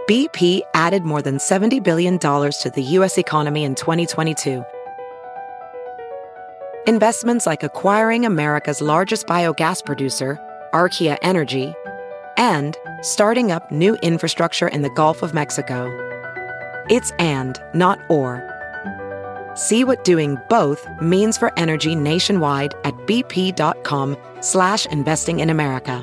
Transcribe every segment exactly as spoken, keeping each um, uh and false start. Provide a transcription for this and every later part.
B P added more than seventy billion dollars to the U S economy in twenty twenty-two. Investments like acquiring America's largest biogas producer, Archaea Energy, and starting up new infrastructure in the Gulf of Mexico. It's and, not or. See what doing both means for energy nationwide at bp.com slash investing in America.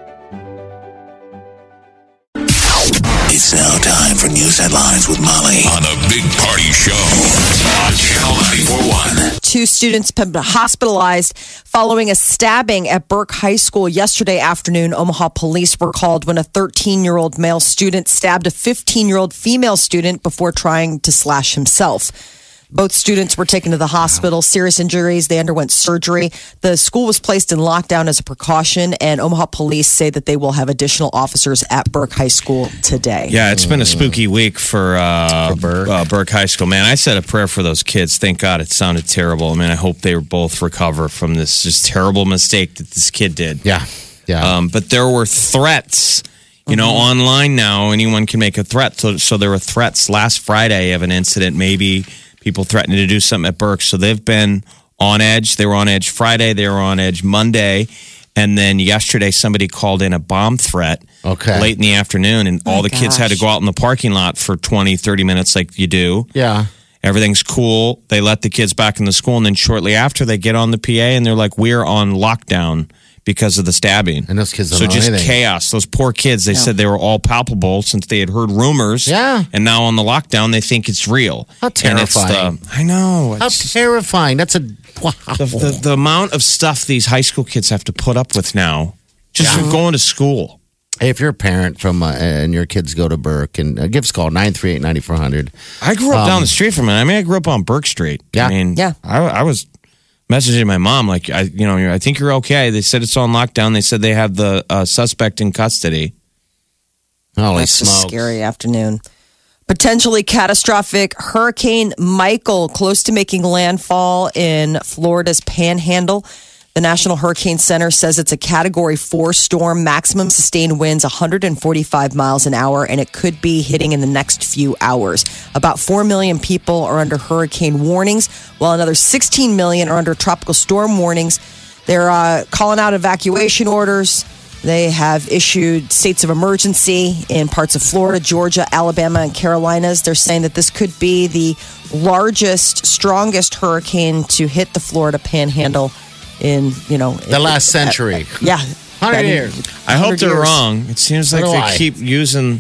It's now time for news headlines with Molly on the Big Party Show on Channel ninety-four point one. Two students have been hospitalized following a stabbing at Burke High School yesterday afternoon. Omaha police were called when a thirteen-year-old male student stabbed a fifteen-year-old female student before trying to slash himself. Both students were taken to the hospital. Serious injuries. They underwent surgery. The school was placed in lockdown as a precaution, and Omaha police say that they will have additional officers at Burke High School today. Yeah, it's been a spooky week for, uh, For Burke. Uh, Burke High School. Man, I said a prayer for those kids. Thank God it sounded terrible. I mean, I hope they both recover from this just terrible mistake that this kid did. Yeah, yeah. Um, but there were threats. You know, Mm-hmm. online now, anyone can make a threat. So, so there were threats last Friday of an incident, maybe people threatening to do something at Burke. So they've been on edge. They were on edge Friday. They were on edge Monday. And then yesterday, somebody called in a bomb threat Okay. late in the afternoon. And Oh, all the kids had to gosh. go out in the parking lot for twenty, thirty minutes like you do. yeah. Everything's cool. They let the kids back in the school. And then shortly after, they get on the P A and they're like, we're on lockdown because of the stabbing. And those kids don't So know just anything. chaos. Those poor kids, they said they were all palpable since they had heard rumors. Yeah. And now on the lockdown, they think it's real. How And it's terrifying. the, I know. How It's terrifying. That's a wow. the, the, the amount of stuff these high school kids have to put up with now just for going to school. Hey, if you're a parent from uh, and your kids go to Burke, and uh, give us a call, nine three eight, nine four hundred. I grew up down the street from it. I mean, I grew up on Burke Street. Yeah. I mean, Yeah. I, I was messaging my mom, like, I, you know, I think you're okay. They said it's on lockdown. They said they have the uh, suspect in custody. Holy That's smokes. a scary afternoon. Potentially catastrophic Hurricane Michael close to making landfall in Florida's Panhandle. The National Hurricane Center says it's a Category four storm, maximum sustained winds one hundred forty-five miles an hour, and it could be hitting in the next few hours. About four million people are under hurricane warnings, while another sixteen million are under tropical storm warnings. They're uh, calling out evacuation orders. They have issued states of emergency in parts of Florida, Georgia, Alabama, and Carolinas. They're saying that this could be the largest, strongest hurricane to hit the Florida Panhandle in, you know, The last century. yeah, one hundred I mean, years. I hope 100 they're years. wrong. It seems like So do they I. keep using,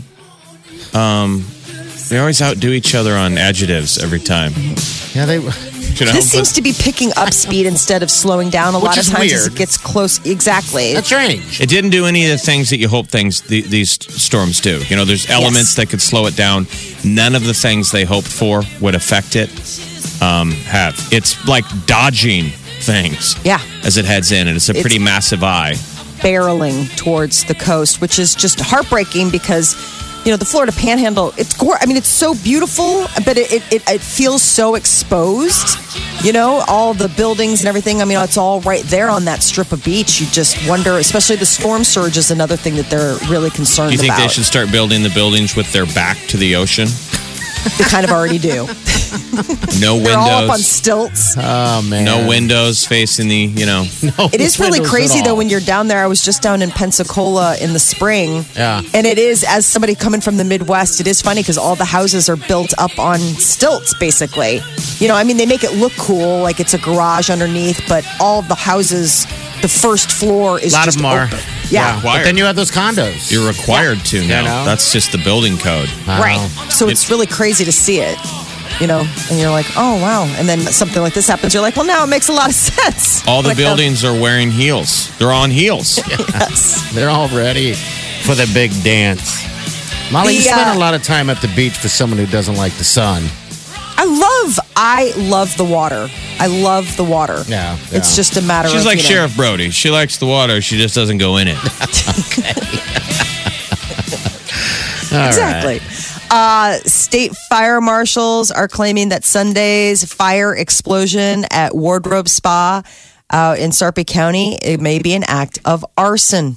um, they always outdo each other on adjectives every time. Yeah, they. You know, This seems but to be picking up speed instead of slowing down a Which lot of is times as weird. it gets close. Exactly. That's strange. it didn't do any of the things that you hope things the, these storms do. You know, there's elements that could slow it down. None of the things they hoped for would affect it. Um, have it's like dodging things. Yeah. As it heads in, and it's a It's- pretty massive eye. barreling towards the coast, which is just heartbreaking because, you know, the Florida Panhandle, it's gor- I mean, it's so beautiful, but it, it, it, it feels so exposed, you know, all the buildings and everything. I mean, it's all right there on that strip of beach. You just wonder, especially the storm surge is another thing that they're really concerned Do you think about. they should start building the buildings with their back to the ocean? They kind of already do. No They're all up on windows. stilts. Oh, man. No windows facing the, you know. No It is really windows crazy at though all. when you're down there. I was just down in Pensacola in the spring. Yeah. And it is, as somebody coming from the Midwest, it is funny because all the houses are built up on stilts, basically. You know, I mean, they make it look cool, like it's a garage underneath, but all of the houses, the first floor is A lot just of them are. open. Yeah. But then you have those condos. You're required to now. know? That's just the building code. Wow. Right. So it's really crazy to see it, you know, and you're like, oh, wow. And then something like this happens. You're like, well, now it makes a lot of sense. All the Like, uh, buildings are wearing heels. They're on heels. yes. They're all ready for the big dance. Molly, you The, spend uh, a lot of time at the beach for someone who doesn't like the sun. I love, I love the water. I love the water. Yeah, It's yeah. just a matter She's of, like you know, Sheriff Brody. She likes the water. She just doesn't go in it. Exactly. Uh, state fire marshals are claiming that Sunday's fire explosion at Wardrobe Spa out in Sarpy County, it may be an act of arson.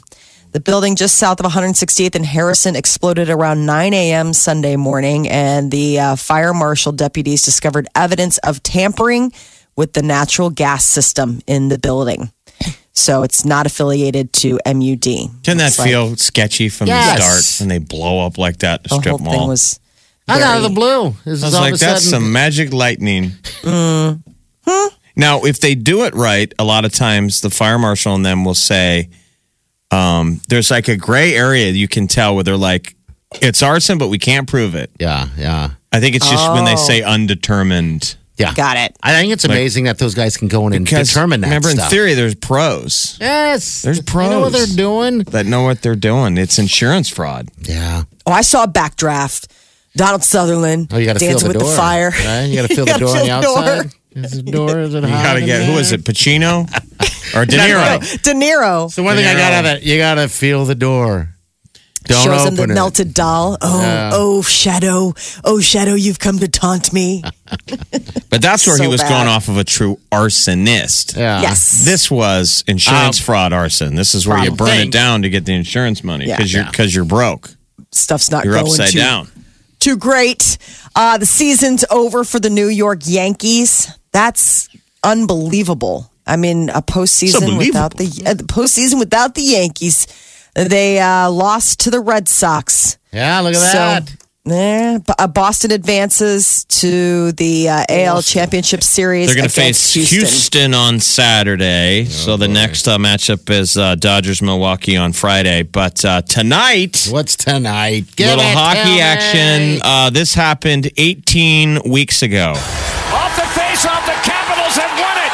The building just south of one hundred sixty-eighth and Harrison exploded around nine a.m. Sunday morning, and the uh, fire marshal deputies discovered evidence of tampering with the natural gas system in the building. So it's not affiliated to M U D. Didn't that It's like feel sketchy from Yes. the start when they blow up like that? The the strip whole mall. thing was Out very- of the blue. This I is was all like, of a that's sudden. some magic lightning. Mm-hmm. Now, if they do it right, a lot of times the fire marshal and them will say, um, there's like a gray area you can tell where they're like, it's arson, but we can't prove it. Yeah, yeah. I think it's just when they Oh. say undetermined. Yeah. Got it. I think it's amazing that those guys can go in and Because determine that remember, stuff. in theory, there's pros Yes. There's They know what pros. they're doing. that know what they're doing. It's insurance fraud. Yeah. Oh, I saw a backdraft. Donald Sutherland Oh, you got to feel dancing the with door. the fire. Right? You got to feel the gotta door on the feel the door. outside. Is the door? Is it You hot got to in get, who there? is it, Pacino or De Niro? De Niro So one thing I got out of it, you got to feel the door. Don't shows him open the it. melted doll. Oh, Yeah. oh, Shadow. Oh, Shadow, you've come to taunt me. But that's where he So was bad. going off of a true arsonist. Yeah. Yes. This was insurance Oh. fraud arson. This is where you Problem. burn Thing. it down to get the insurance money Yeah. because you're Yeah. because you're broke. Stuff's not You're going upside too, down. too great. Uh, the season's over for the New York Yankees. That's unbelievable. I mean, a postseason unbelievable. without the, uh, the postseason without the Yankees. They uh, lost to the Red Sox. Yeah, look at that. So, eh, B- uh, Boston advances to the uh, A L Championship Series. They're going to against face Houston. on Saturday. Oh, so the next uh, matchup is uh, Dodgers Milwaukee on Friday. But uh, tonight, What's tonight? Give little it to hockey me. action. Uh, this happened eighteen weeks ago. Off the face-off, the Capitals have won it.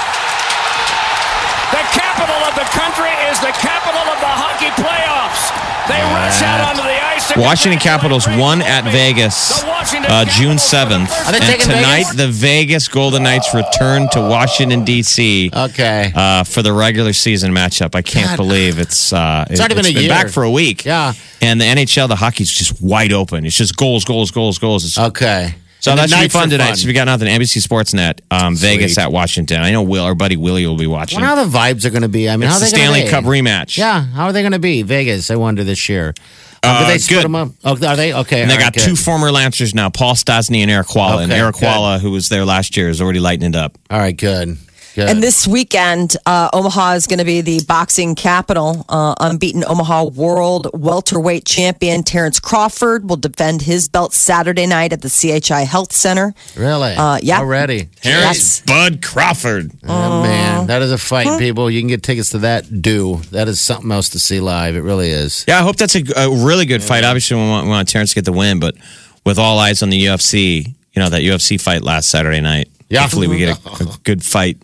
The capital of the country is the capital of the hockey playoffs. They rush out onto the ice. to Washington congratulate Capitals Greg won at Colby. Vegas The Washington uh, June Capitals for the seventh. first Are they And taking tonight, Vegas? the Vegas Golden Knights return to Washington, D C Okay. uh, for the regular season matchup. I can't God. believe it's uh, It's already been a year. back for a week. Yeah. And the N H L, the hockey's just wide open. It's just goals, goals, goals, goals. It's, Okay. so And that the should be nights fun are tonight. fun. So if you got nothing, N B C Sportsnet, um, Vegas Sweet. at Washington. I know Will, our buddy Willie will be I watching. wonder how the vibes are going to be. I mean, It's how the are they gonna Stanley be? Cup rematch. Yeah, how are they going to be? Vegas, I wonder this year. Um, Uh, did they split good. them up? Oh, are they? Okay. And they all right, got two good. former Lancers now, Paul Stastny and Eric Walla. and Okay, Eric good. Walla, who was there last year, is already lighting it up. All right, good. Good. And this weekend, uh, Omaha is going to be the boxing capital. Uh, unbeaten Omaha world welterweight champion Terrence Crawford will defend his belt Saturday night at the C H I Health Center. Really? Uh, yeah. Already? Terrence Bud Crawford. Oh, man, that is a fight, people. You can get tickets to that. Do that is something else to see live. It really is. Yeah, I hope that's a, a really good fight. Obviously, we want, we want Terrence to get the win, but with all eyes on the U F C, you know, that U F C fight last Saturday night. Yeah. Hopefully, we get a, a good fight.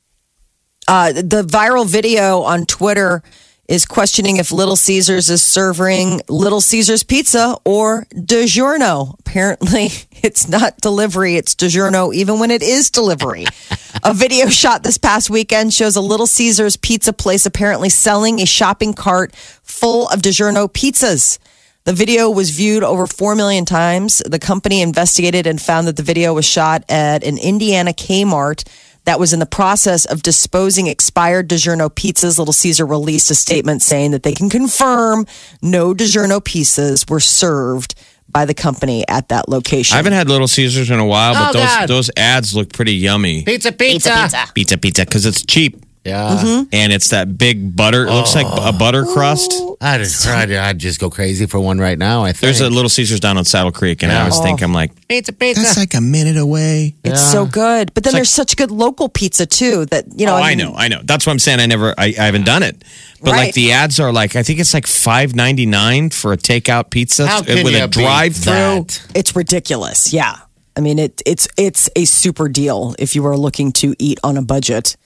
Uh, the viral video on Twitter is questioning if Little Caesars is serving Little Caesars pizza or DiGiorno. Apparently, it's not delivery, it's DiGiorno, even when it is delivery. A video shot this past weekend shows a Little Caesars pizza place apparently selling a shopping cart full of DiGiorno pizzas. The video was viewed over four million times. The company investigated and found that the video was shot at an Indiana Kmart that was in the process of disposing expired DiGiorno pizzas. Little Caesar released a statement saying that they can confirm no DiGiorno pizzas were served by the company at that location. I haven't had Little Caesars in a while, but Oh, those God. those ads look pretty yummy. Pizza, pizza. Pizza, pizza, because it's cheap Yeah. Mm-hmm. and it's that big butter. It looks like a butter crust. I'd, I'd, I'd just go crazy for one right now, I think. There's a Little Caesars down on Saddle Creek, and I Yeah. always think I'm like, pizza, pizza. that's like a minute away. It's so good. But then there's such good local pizza too that, you know. oh, I mean, know, I know. That's what I'm saying. I never, I, I haven't done it. But Right. like the ads are like, I think it's like five ninety-nine for a takeout pizza How can with you a beat drive through. that? It's ridiculous. Yeah. I mean, it, it's it's a super deal if you are looking to eat on a budget.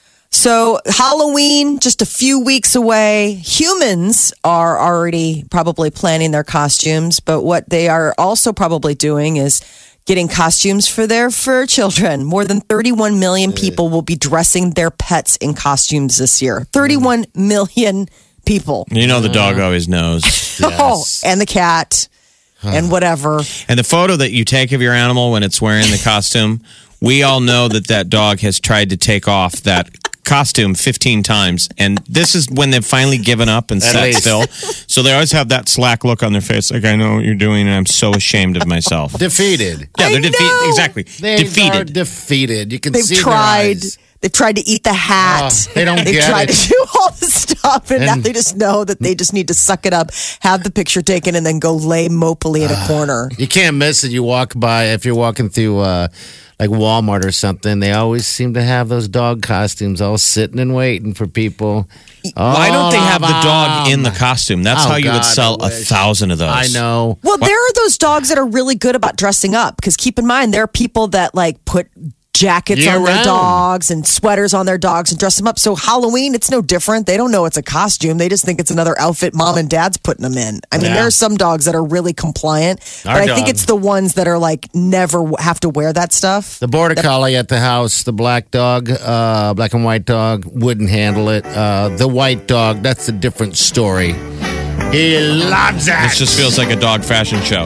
So Halloween, just a few weeks away. Humans are already probably planning their costumes, but what they are also probably doing is getting costumes for their fur children. More than thirty-one million people will be dressing their pets in costumes this year. thirty-one million people. You know, the dog always knows. Oh, and the cat and whatever. And the photo that you take of your animal when it's wearing the costume, we all know that that dog has tried to take off that costume fifteen times, and this is when they've finally given up and At sat least. still. So they always have that slack look on their face, like I know what you're doing, and I'm so ashamed of myself. Defeated. Yeah, I they're defeated. know. Exactly, They are defeated. defeated. You can They've see tried. their eyes. They've tried to eat the hat. Oh, they don't They've get tried it. to do all this stuff, and, now And- they just know that they just need to suck it up, have the picture taken, and then go lay mopily in a corner. You can't miss it. You walk by, if you're walking through uh, like Walmart or something, they always seem to have those dog costumes all sitting and waiting for people. Why don't they have the dog in the Um, costume? That's Oh, how you would God, sell I a wish. thousand of those. I know. Well, there are those dogs that are really good about dressing up because keep in mind there are people that like put jackets Year on their round. dogs and sweaters on their dogs and dress them up. So Halloween, it's no different. They don't know it's a costume. They just think it's another outfit mom and dad's putting them in. I mean, Yeah. there are some dogs that are really compliant, Our but I think dog. it's the ones that are like never have to wear that stuff. The border collie at the house, the black dog, uh, black and white dog, wouldn't handle it. Uh, the white dog, that's a different story. He loves it. This just feels like a dog fashion show.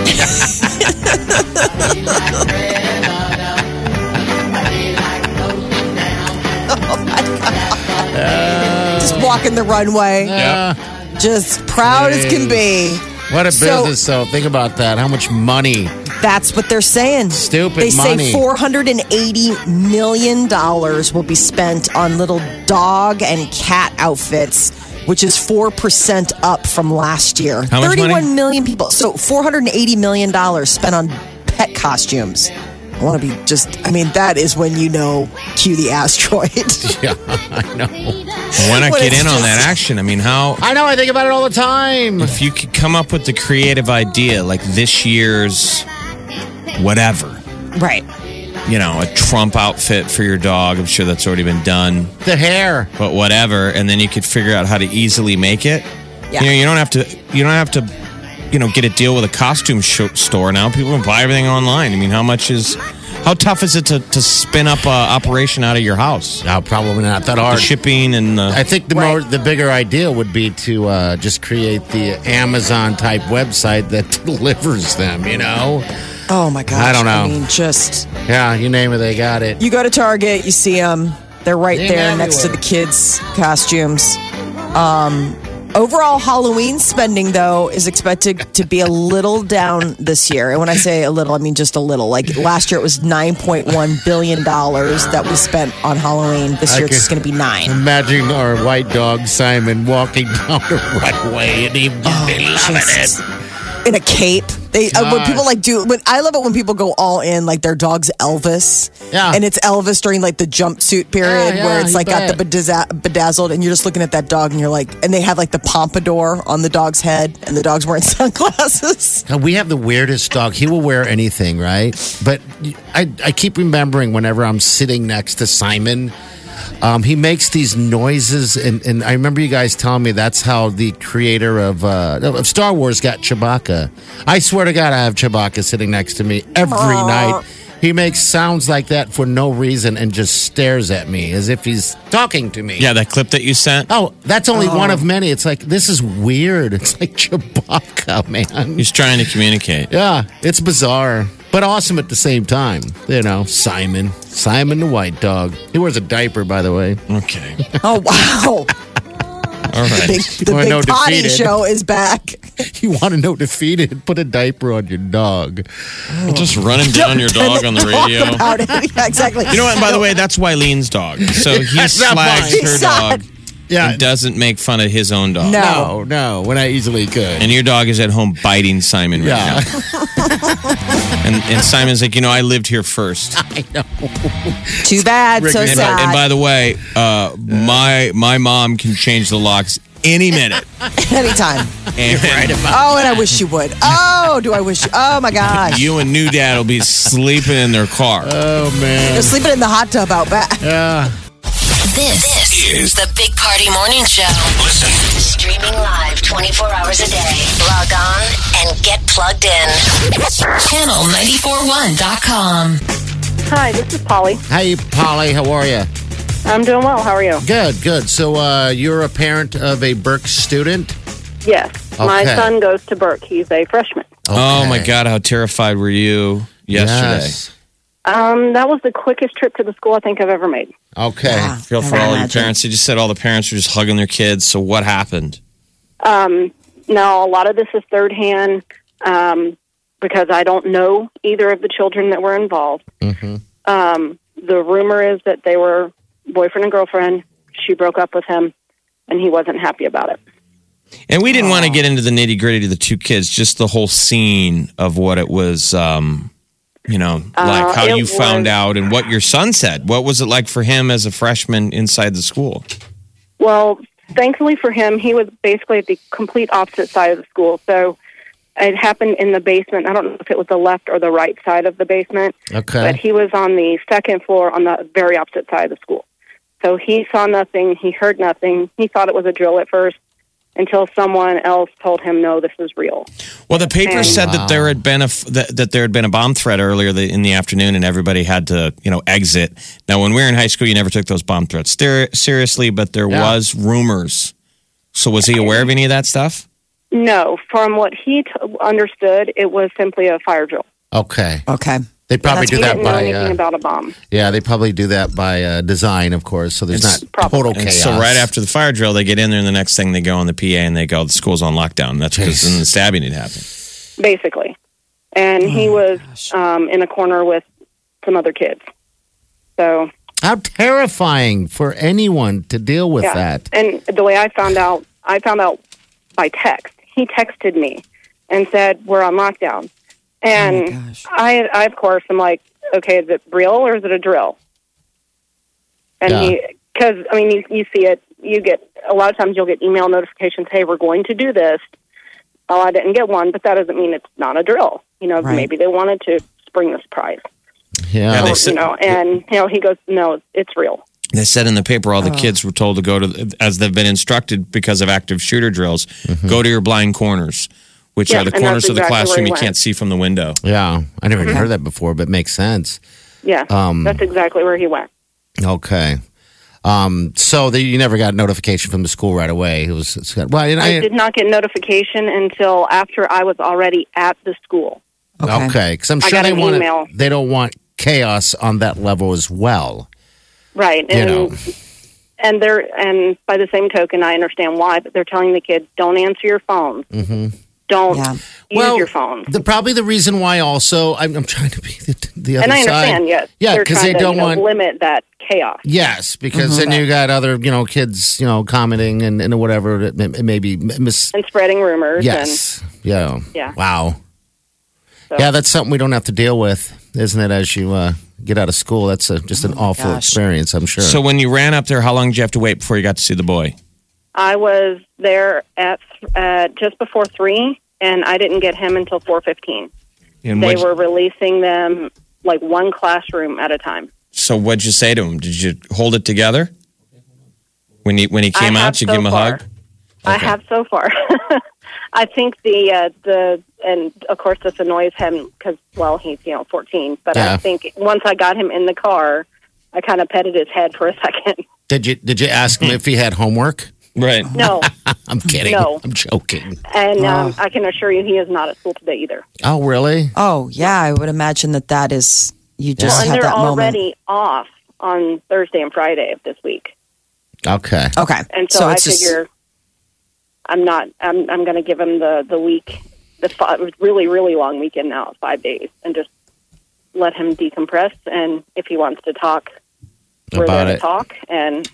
Just walking the runway, Yeah. just proud as can be. What a So- business, though. Think about that. How much money? That's what they're saying. Stupid They money. say four hundred eighty million dollars will be spent on little dog and cat outfits, which is four percent up from last year. How much money? thirty-one million people. So four hundred eighty million dollars spent on pet costumes. I want to be just, I mean, that is when you know, cue the asteroid. Yeah, I know. Why not When get it's in on that just- action? I mean, how I know. I think about it all the time. if you could come up with the creative idea, like this year's whatever, Right. you know, a Trump outfit for your dog. I'm sure that's already been done, The hair. but whatever, and then you could figure out how to easily make it. Yeah. You know, you don't have to. You don't have to. You know, get a deal with a costume sh- store now. People can buy everything online. I mean, how much is? How tough is it to, to spin up a operation out of your house? No, probably not that The hard. shipping and the. I think the more the bigger idea would be to uh, just create the Amazon type website that delivers them. You know? Oh my gosh. I don't know. I mean, just. Yeah, you name it, they got it. You go to Target, you see them. They're right They're there next to the everywhere. kids' costumes. Um, overall Halloween spending, though, is expected to be a little down this year. And when I say a little, I mean just a little. Like last year, it was nine point one billion dollars that we spent on Halloween. This year, it's just going to be nine. Imagine our white dog Simon walking down the runway and he just be loving Jesus. it. In a cape. They uh, when Gosh. people like do when I love it when people go all in like their dog's Elvis. Yeah. And it's Elvis during like the jumpsuit period Yeah, yeah, where it's you like got the bet. bedazz- bedazzled and you're just looking at that dog and you're like and they have like the pompadour on the dog's head and the dog's wearing sunglasses. God, we have the weirdest dog. He will wear anything, right? But I, I keep remembering whenever I'm sitting next to Simon, um, he makes these noises. And, and I remember you guys telling me that's how the creator of, uh, of Star Wars got Chewbacca. I swear to God, I have Chewbacca sitting next to me every night. He makes sounds like that for no reason and just stares at me as if he's talking to me. yeah, that clip that you sent. Oh, that's only one of many. It's like, this is weird. It's like Chewbacca, man. He's trying to communicate. Yeah, it's bizarre, but awesome at the same time. You know, Simon. Simon the white dog. He wears a diaper, by the way. Okay. Oh wow. All The right. big, the Or big no potty defeated. show is back. You want to know defeated? Put a diaper on your dog. Just running down your dog on the Talk radio. about it. Yeah, exactly. You know what? And by the way, that's Wylene's dog. So he That's not slags mine. her He's dog Yeah. and doesn't make fun of his own dog. No. No, no, when I easily could. And your dog is at home biting Simon right Yeah. now. And, and Simon's like, you know, I lived here first. I know. Too bad. So And by, sad. and by the way, uh, my my mom can change the locks any minute. Anytime. And Oh, and I wish you would. Oh, do I wish you? Oh my gosh. you and new dad will be sleeping in their car. Oh, man. They're sleeping in the hot tub out back. Yeah. This This, is is the Big Party Morning Show. Listen. Streaming live twenty-four hours a day. Log on and get plugged in. channel nine four one dot com. Hi, this is Polly. Hey, Polly, how are you? I'm doing well. How are you? Good, good. So, uh, you're a parent of a Burke student? Yes. My Okay. son goes to Burke. He's a freshman. Oh my Okay. God, how terrified were you yesterday? Yes. Um, that was the quickest trip to the school I think I've ever made. Okay. Yeah. I feel for I all your imagine. parents. You just said all the parents were just hugging their kids. So what happened? Um, no, a lot of this is third hand um, because I don't know either of the children that were involved. Mm-hmm. Um, the rumor is that they were boyfriend and girlfriend. She broke up with him, and he wasn't happy about it. And we didn't want to get into the nitty gritty of the two kids, just the whole scene of what it was, um, you know, like Uh, how it you found was- out and what your son said. What was it like for him as a freshman inside the school? Well, thankfully for him, he was basically at the complete opposite side of the school. So it happened in the basement. I don't know if it was the left or the right side of the basement, Okay. but he was on the second floor on the very opposite side of the school. So he saw nothing. He heard nothing. He thought it was a drill at first until someone else told him, no, this is real. Well, the paper And- said that there had been a f- that, that there had been a bomb threat earlier the, in the afternoon, and everybody had to you know exit. Now, when we were in high school, you never took those bomb threats ser- seriously, but there Yeah. was rumors. So, was he aware of any of that stuff? No, from what he t- understood, it was simply a fire drill. Okay. Okay. They probably That's- do He that didn't know by anything uh, about a bomb. yeah. They probably do that by uh, design, of course. So there's It's not probably- total And chaos. so, right after the fire drill, they get in there, and the next thing they go on the P A and they go, "The school's on lockdown." That's because Jeez. then the stabbing had happened. Basically. And he was um, in a corner with some other kids. So, How terrifying for anyone to deal with yeah. that. And the way I found out, I found out by text. He texted me and said, we're on lockdown. And gosh. I, I, of course, am like, okay, is it real or is it a drill? And Yeah. he, because, I mean, you, you see it, you get, a lot of times you'll get email notifications, hey, we're going to do this. Oh, I didn't get one, but that doesn't mean it's not a drill. You know, Right. maybe they wanted to spring the surprise. Yeah. Yeah, they Or, said- you know, and, you know, he goes, no, it's real. They said in the paper all the Oh. kids were told to go to, as they've been instructed because of active shooter drills, go to your blind corners, which Yeah, are the and corners that's of the exactly where classroom he you went. can't see from the window. yeah. I never even heard that before, but makes sense. Yeah, Um, that's exactly where he went. Okay. Um, so the, you never got notification from the school right away. It was it's got, well, and I I, did not get notification until after I was already at the school. Okay. okay, because I'm I sure got they an want email. they don't want chaos on that level as well. Right. You And know. and they're and by the same token I understand why, but they're telling the kids don't answer your phones. Mm-hmm. Don't Yeah. use well, your phones. The, probably the reason why also I'm, I'm trying to be the, the other And I side. understand, yes. Yeah, they're because trying they to, don't you know, want. limit that chaos. Yes, because then you got other you know kids you know commenting and, and whatever it, it may be mis. And spreading rumors Yes. Yeah. Yeah. Wow. So- Yeah, that's something we don't have to deal with, isn't it? As you uh, get out of school, that's a, just an awful gosh. experience. I'm sure. So when you ran up there, how long did you have to wait before you got to see the boy? I was there at uh, just before three and I didn't get him until four fifteen. And They what'd- were releasing them like one classroom at a time. So what'd you say to him? Did you hold it together when he when he I came have out? You so give him a far. hug. I Okay. have so far. I think the uh, the and of course this annoys him because well he's you know fourteen, but Yeah. I think once I got him in the car, I kind of petted his head for a second. did you did you ask him if he had homework? Right. No, I'm kidding. No. I'm joking. and um, I can assure you he is not at school today either. Oh, really? Oh, yeah. I would imagine that that is, you just Well, and had they're that moment. already off on Thursday and Friday of this week, Okay. Okay. and so, I it's just- figure I'm not. I'm I'm going to give him the the week, the five, really really long weekend now, five days, and just let him decompress. And if he wants to talk, we're About there it. to talk. And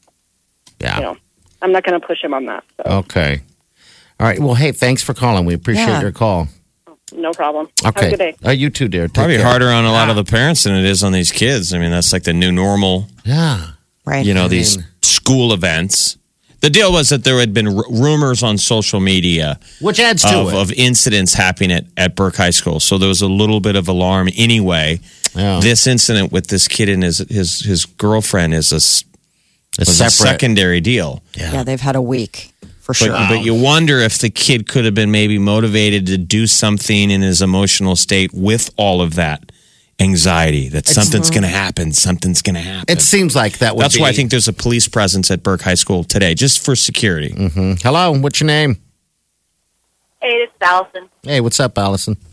Yeah. you know, I'm not going to push him on that. So Okay. All right. Well, hey, thanks for calling. We appreciate Yeah. your call. no problem. Okay. Have a good day. Uh, you too, dear. Take Probably care. harder on a lot of the parents than it is on these kids. I mean, that's like the new normal. Yeah. Right. You know, these mean- school events. The deal was that there had been r- rumors on social media Which adds to of, it. of incidents happening at, at Burke High School. So there was a little bit of alarm anyway. Yeah. This incident with this kid and his his, his girlfriend is a, s- It's was a separate. secondary deal. Yeah, they've had a week for But, sure. but you wonder if the kid could have been maybe motivated to do something in his emotional state with all of that anxiety that something's going to happen, something's going to happen. It seems like that would That's be. why I think there's a police presence at Burke High School today, just for security. Mhm. Hello. What's your name? Hey, it's Allison. Hey, what's up, Allison?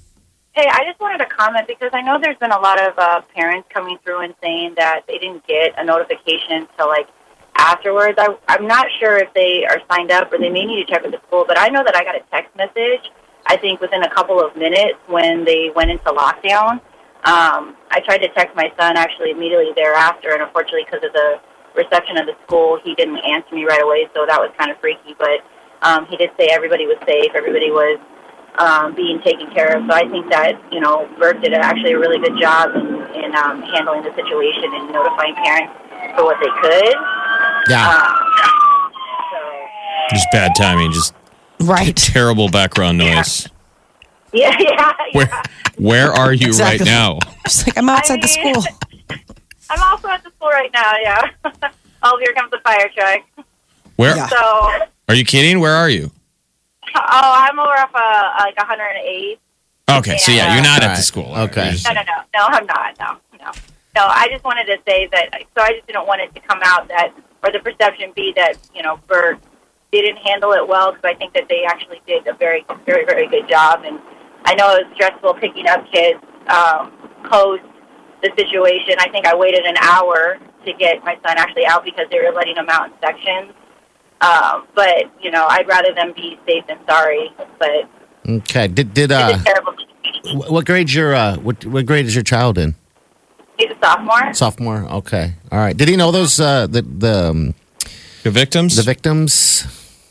Hey, I just wanted to comment because I know there's been a lot of uh, parents coming through and saying that they didn't get a notification till like afterwards. I, I'm not sure if they are signed up or they may need to check with the school, but I know that I got a text message, I think within a couple of minutes when they went into lockdown. Um, I tried to text my son actually immediately thereafter, and unfortunately because of the reception of the school, he didn't answer me right away, so that was kind of freaky. But um, he did say everybody was safe, everybody was um, being taken care of. So I think that, you know, Burke did actually a really good job in, in um, handling the situation and notifying parents for what they could. Yeah. Um, so, Just bad timing. Just Right. terrible background noise. yeah, yeah, yeah. Where where are you Exactly. right now? She's like, I'm outside I the mean- school. I'm also at the school right now, yeah. Oh, here comes the fire truck. Where Yeah. So, are you kidding? Where are you? oh, I'm over off uh, like one hundred eight. Okay, so yeah, you're not at Alright. the school. Okay. You're just- No, no, no. No, I'm not. No, no. No, I just wanted to say that, so I just didn't want it to come out that, or the perception be that, you know, Bert didn't handle it well, because I think that they actually did a very, very, very good job. And I know it was stressful picking up kids um, post the situation. I think I waited an hour to get my son actually out because they were letting him out in sections. Um, but, you know, I'd rather them be safe than sorry. But Okay. Did did it's uh, a terrible situation. wh- what grade's your uh, what what grade is your child in? He's a sophomore. Sophomore. Okay. All right. Did he know those uh, the the um, The victims? the victims?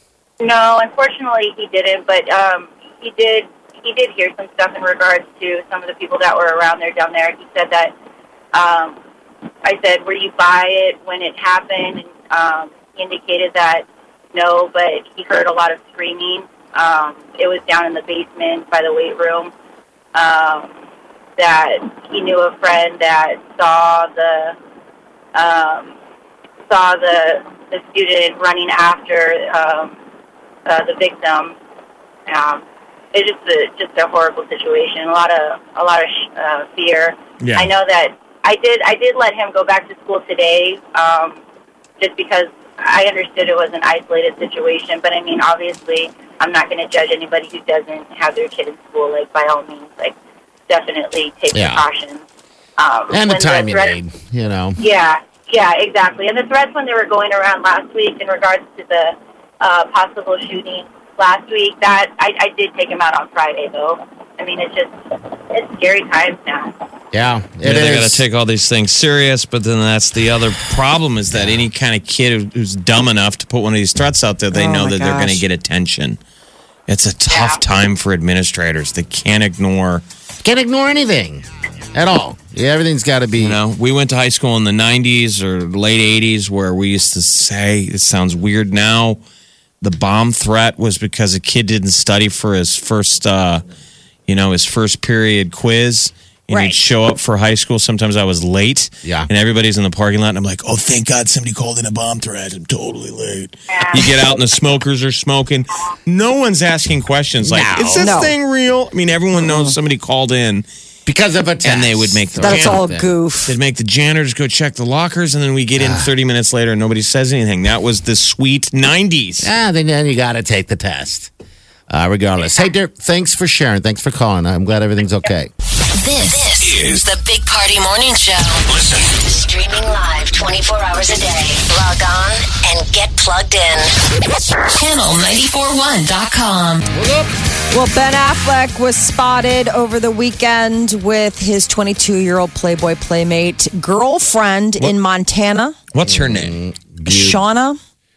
No, unfortunately he didn't, but um, he did he did hear some stuff in regards to some of the people that were around there down there. He said that, um, I said, were you by it when it happened? And um, he indicated that no, but he heard a lot of screaming. Um, it was down in the basement by the weight room. Um, that he knew a friend that saw the um, saw the the student running after um, uh, the victim. Um, it's just a just a horrible situation. A lot of a lot of sh- uh, fear. Yeah. I know that I did. I did let him go back to school today, um, just because I understood it was an isolated situation. But I mean, obviously, I'm not going to judge anybody who doesn't have their kid in school. Like, by all means, like, definitely take Yeah. precautions. Um, And the when time you threat- need, you know. Yeah, yeah, exactly. And the threats when they were going around last week in regards to the uh, possible shooting last week, that I, I did take him out on Friday, though. I mean, it's just it's scary times now. Yeah, it Yeah, they got is. to take all these things serious, but then that's the other problem is that any kind of kid who- who's dumb enough to put one of these threats out there, they Oh, know my that they're going to gosh. get attention. It's a tough Yeah. time for administrators. They can't ignore. Can't ignore anything at all. Yeah, everything's got to be. You know, we went to high school in the nineties or late eighties where we used to say, it sounds weird now, the bomb threat was because a kid didn't study for his first, uh, you know, his first period quiz. And Right. he'd show up for high school. Sometimes I was late. Yeah. And everybody's in the parking lot. And I'm like, oh, thank God somebody called in a bomb threat. I'm totally late. Yeah. You get out and the smokers are smoking. No one's asking questions like, No. is this No. thing real? I mean, everyone knows somebody called in. because of a test. And they would make the- That's all Thing. goof. They'd make the janitors go check the lockers, and then we get in thirty minutes later and nobody says anything. That was the sweet nineties. Ah, then, then you got to take the test, uh, regardless. Hey, Dirk, thanks for sharing. Thanks for calling. I'm glad everything's okay. This, this is the Big Party Morning Show. Listen. Streaming live twenty-four hours a day. Log on and get plugged in. channel nine four one dot com. Well, Ben Affleck was spotted over the weekend with his twenty-two-year-old Playboy Playmate girlfriend in Montana, What's her name? Shauna.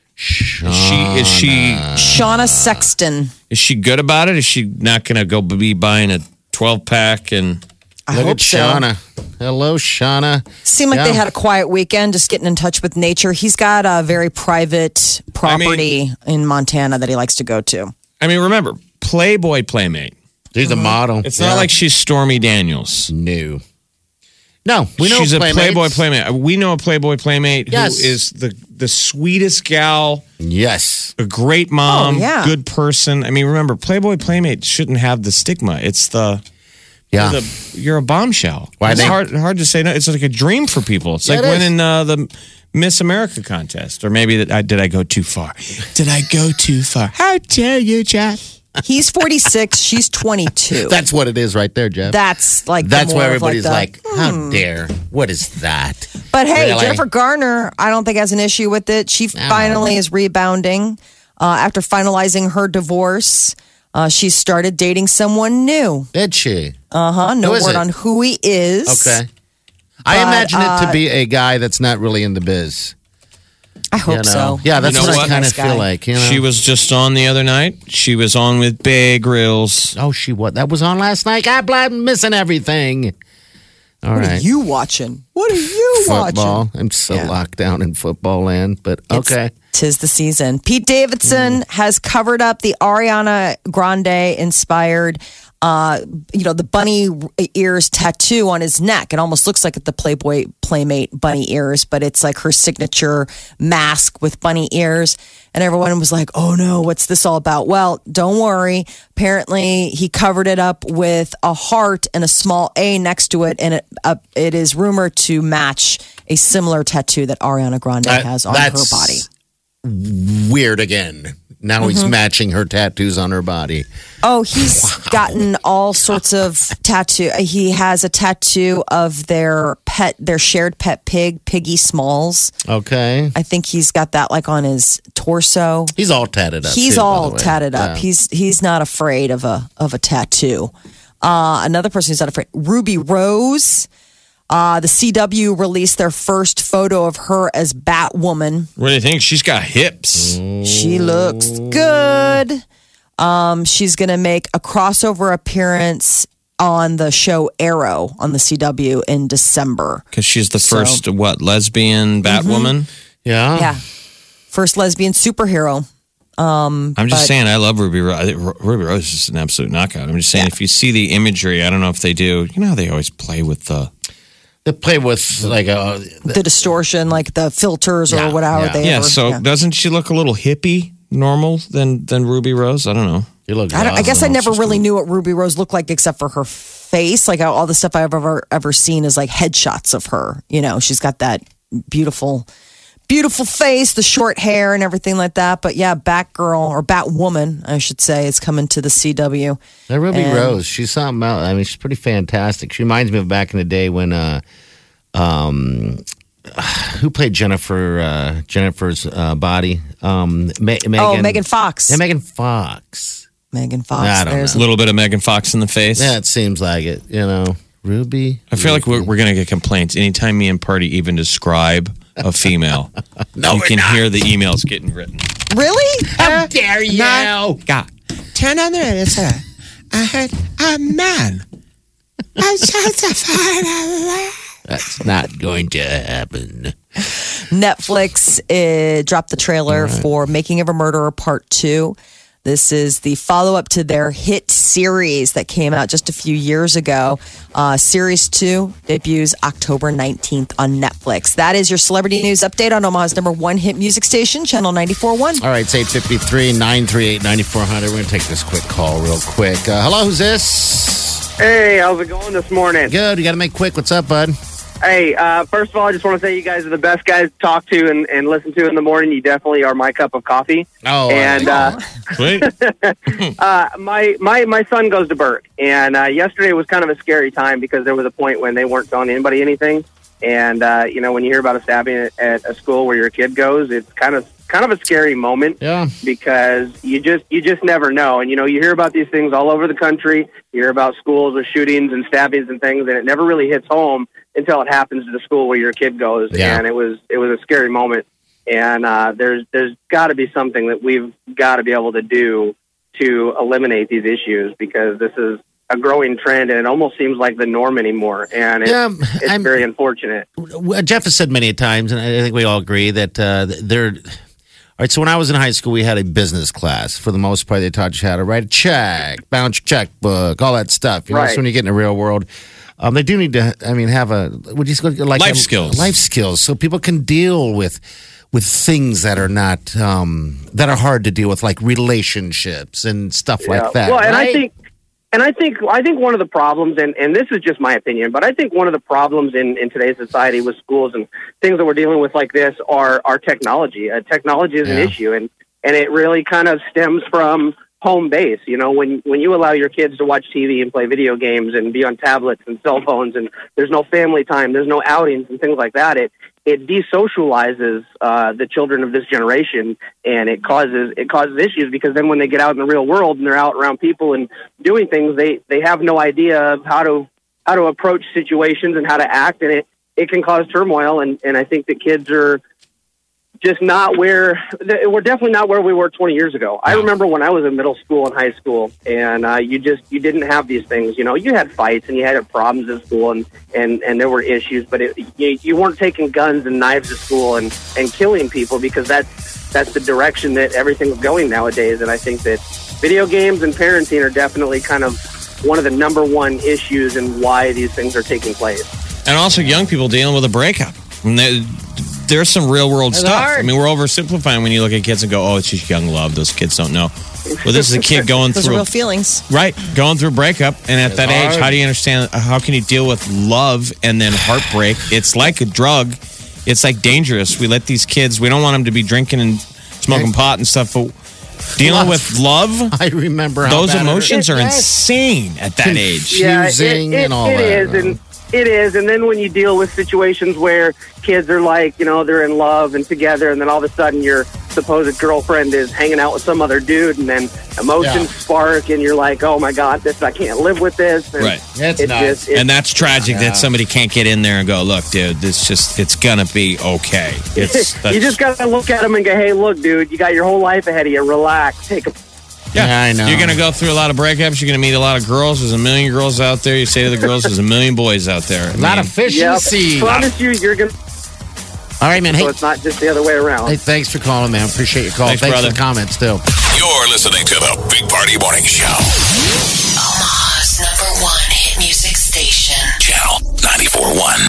Is she is she Shauna Sexton. is she good about it? Is she not going to go be buying a twelve pack and I Look hope at so. Shauna. Hello, Shauna. Seemed like Yeah. they had a quiet weekend, just getting in touch with nature. He's got a very private property in Montana that he likes to go to. I mean, remember, Playboy Playmate. She's a model. It's Yeah. not like she's Stormy Daniels. new. No, we know she's a Playmates. Playboy Playmate. We know a Playboy Playmate Yes. who is the the sweetest gal, Yes. a great mom, Oh, yeah. good person. I mean, remember, Playboy Playmate shouldn't have the stigma. It's the Yeah. You're, the, you're a bombshell. Why it's they- hard hard to say no. It's like a dream for people. It's Yeah, like it is. winning uh, the Miss America contest, or maybe that I did I go too far? Did I go too far? How dare you, Jeff? He's forty-six. She's twenty-two. That's what it is right there, Jeff. That's like the That's more why of everybody's like, like, how dare? What is that? But hey, Really? Jennifer Garner, I don't think has an issue with it. She No. finally is rebounding uh, after finalizing her divorce. Uh, she started dating someone new. Did she? Uh huh. No Who is word it? on who he is. Okay. I But, imagine it uh, to be a guy that's not really in the biz. I hope You know? so. Yeah, that's You know what, I what? kind of Nice guy. feel like. You know? She was just on the other night. She was on with Big Reels. Oh, she what? That was on last night. God, I'm missing everything. All What right. are you watching? What are you Football. watching? I'm so Yeah. locked down in football land, but It's- okay. Tis the season. Pete Davidson Mm. has covered up the Ariana Grande inspired, uh, you know, the bunny ears tattoo on his neck. It almost looks like the Playboy Playmate bunny ears, but it's like her signature mask with bunny ears. And everyone was like, oh no, what's this all about? Well, don't worry. Apparently, he covered it up with a heart and a small A next to it. And it, uh, it is rumored to match a similar tattoo that Ariana Grande That- has on her that's body. Weird again. Now Mm-hmm. he's matching her tattoos on her body. Oh, he's gotten all sorts of tattoo. He has a tattoo of their pet, their shared pet pig, Piggy Smalls. Okay. I think he's got that like on his torso. He's all tatted up. He's too, by all the way. tatted up. Yeah. He's he's not afraid of a of a tattoo. Uh, another person who's not afraid, Ruby Rose. Uh, the C W released their first photo of her as Batwoman. What do you think? She's got hips. She looks good. Um, she's going to make a crossover appearance on the show Arrow on the C W in December. Because she's the So- first, what, lesbian Batwoman? Yeah. Yeah. First lesbian superhero. Um, I'm just but- saying, I love Ruby Rose. I think Ru- Ruby Rose is just an absolute knockout. I'm just saying, if you see the imagery, I don't know if they do. You know how they always play with the. They play with like a. the distortion, like the filters or Yeah, whatever yeah. they Yeah, ever- so yeah. doesn't she look a little hippie normal than, than Ruby Rose? I don't know. You look. I, don't- I guess I awesome. never really knew what Ruby Rose looked like except for her face. Like all the stuff I've ever ever seen is like headshots of her. You know, she's got that beautiful, beautiful face, the short hair, and everything like that. But yeah, Batgirl or Batwoman, I should say, is coming to the C W. That Ruby And- Rose, she's something else. I mean, she's pretty fantastic. She reminds me of back in the day when, uh, um, who played Jennifer? Uh, Jennifer's uh, body. Um, Ma- Megan. Oh, Megan Fox. Yeah, Megan Fox. Megan Fox. I don't There's A little bit of Megan Fox in the face. Yeah, it seems like it. You know, Ruby. I feel like we're, we're going to get complaints anytime me and Party even describe a female. No, you we're can not. hear the emails getting written. really. How dare you? God. Turn on the radio. Say, I heard a man. I tried to find a That's not going to happen. Netflix uh, dropped the trailer for Making of a Murderer Part two. This is the follow up to their hit series that came out just a few years ago. Uh, series two debuts October nineteenth on Netflix. That is your celebrity news update on Omaha's number one hit music station, Channel ninety-four point one. All right, it's eight fifty-three, nine three eight, nine four zero zero. We're going to take this quick call real quick. Uh, hello, who's this? Hey, how's it going this morning? Good. You got to make quick. What's up, bud? Hey, uh, first of all, I just want to say you guys are the best guys to talk to and, and listen to in the morning. You definitely are my cup of coffee. Oh, and uh, Sweet. uh, my my my son goes to Burke, and uh, yesterday was kind of a scary time because there was a point when they weren't telling anybody anything. And uh, you know, when you hear about a stabbing at, at a school where your kid goes, it's kind of kind of a scary moment. Yeah. Because you just you just never know. And you know, you hear about these things all over the country. You hear about schools with shootings and stabbings and things, and it never really hits home until it happens to the school where your kid goes. Yeah. And it was it was a scary moment. And uh, there's there's got to be something that we've got to be able to do to eliminate these issues, because this is a growing trend, and it almost seems like the norm anymore. And it's, Yeah, it's I'm- very unfortunate. Well, Jeff has said many times, and I think we all agree that uh, they're. All right, so when I was in high school, we had a business class. For the most part, they taught you how to write a check, bounce your checkbook, all that stuff. You know, Right. so when you get in the real world, um, they do need to. I mean, have a would you like Life um, skills. life skills, so people can deal with with things that are not um, that are hard to deal with, like relationships and stuff Yeah. like that. Well, and I right? think, and I think, I think one of the problems, and, and this is just my opinion, but I think one of the problems in, in today's society with schools and things that we're dealing with like this are, are technology. Uh, technology is an Yeah. issue, and, and it really kind of stems from home base. You know, when when you allow your kids to watch T V and play video games and be on tablets and cell phones, and there's no family time, there's no outings and things like that, it it desocializes uh, the children of this generation, and it causes it causes issues, because then when they get out in the real world and they're out around people and doing things, they they have no idea of how to how to approach situations and how to act, and it it can cause turmoil. And and I think that kids are just not where we're definitely not where we were twenty years ago. I remember when I was in middle school and high school, and uh, you just you didn't have these things. You know, you had fights and you had problems in school, and, and, and there were issues, but it, you, you weren't taking guns and knives to school and, and killing people, because that's that's the direction that everything's going nowadays. And I think that video games and parenting are definitely kind of one of the number one issues in why these things are taking place. And also young people dealing with a breakup. And they, there's some real world That's stuff. hard. I mean, we're oversimplifying when you look at kids and go, oh, it's just young love. Those kids don't know. Well, this is a kid going Those through are a- real feelings. Right, going through a breakup, and at It's that age, hard. how do you understand? How can you deal with love and then heartbreak? It's like a drug. It's like dangerous. We let these kids. We don't want them to be drinking and smoking pot and stuff. But dealing Love. with love, I remember how those bad it emotions hurt. are Yes. insane at that age. Yeah, it, Confusing it, and all it that. is, and it is. And then when you deal with situations where kids are like, you know, they're in love and together, and then all of a sudden your supposed girlfriend is hanging out with some other dude, and then emotions Yeah. spark, and you're like, oh my God, this I can't live with this. And Right. It's it nuts. just, it, And that's tragic Yeah. that somebody can't get in there and go, look, dude, this just, it's going to be okay. It's, that's, you just got to look at them and go, hey, look, dude, you got your whole life ahead of you. Relax. Take a yeah. Yeah, I know. You're going to go through a lot of breakups. You're going to meet a lot of girls. There's a million girls out there. You say to the girls, there's a million boys out there. I A lot mean, of fish in yeah, the sea. promise you, you're going to, All right, man. Hey, so it's not just the other way around. hey, thanks for calling, man. Appreciate your call. Thanks, Thanks, brother. for the comments, too. You're listening to the Big Party Morning Show. Omaha's number one hit music station. Channel ninety-four point one.